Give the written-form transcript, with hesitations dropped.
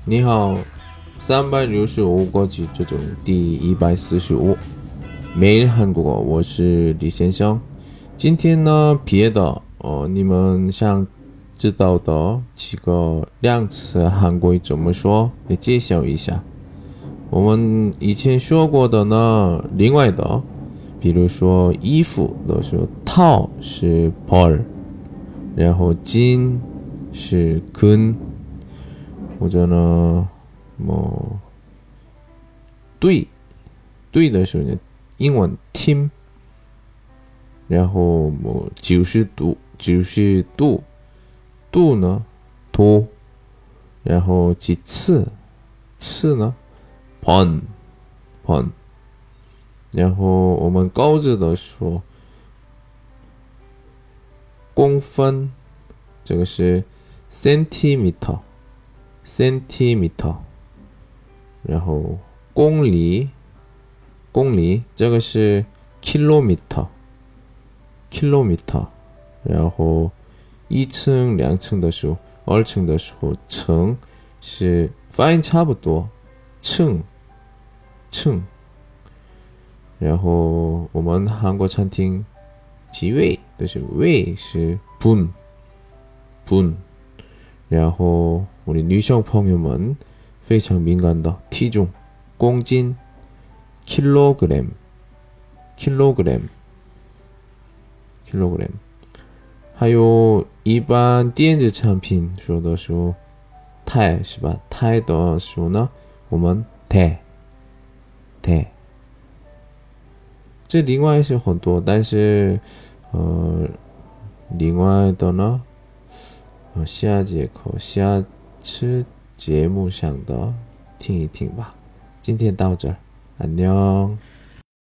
你好，365个句这种第145每日韩国语，我是李先生。今天呢，别的你们想知道的几个量词韩国语怎么说，也介绍一下。我们以前说过的呢，另外的，比如说衣服的时候，套是벌，然后巾是근，或者呢，对的时候呢，英文 team，然后90度呢도，然后几次呢번，然后我们高字的说公分，这个是 centimeter，然后公里，这个是 kilometer，然后1층、2층的时候，2층的时候，층是发音差不多，층，然后我们韩国餐厅几位的时候，位是분，然后我的女性朋友们非常敏感的体重，公斤，kilogram，还有一般电子产品说的时候，钛是吧？钛的时候呢，我们대，这另外是很多，但是另外的呢，下节课下次节目上的听一听吧。今天到这儿，안녕。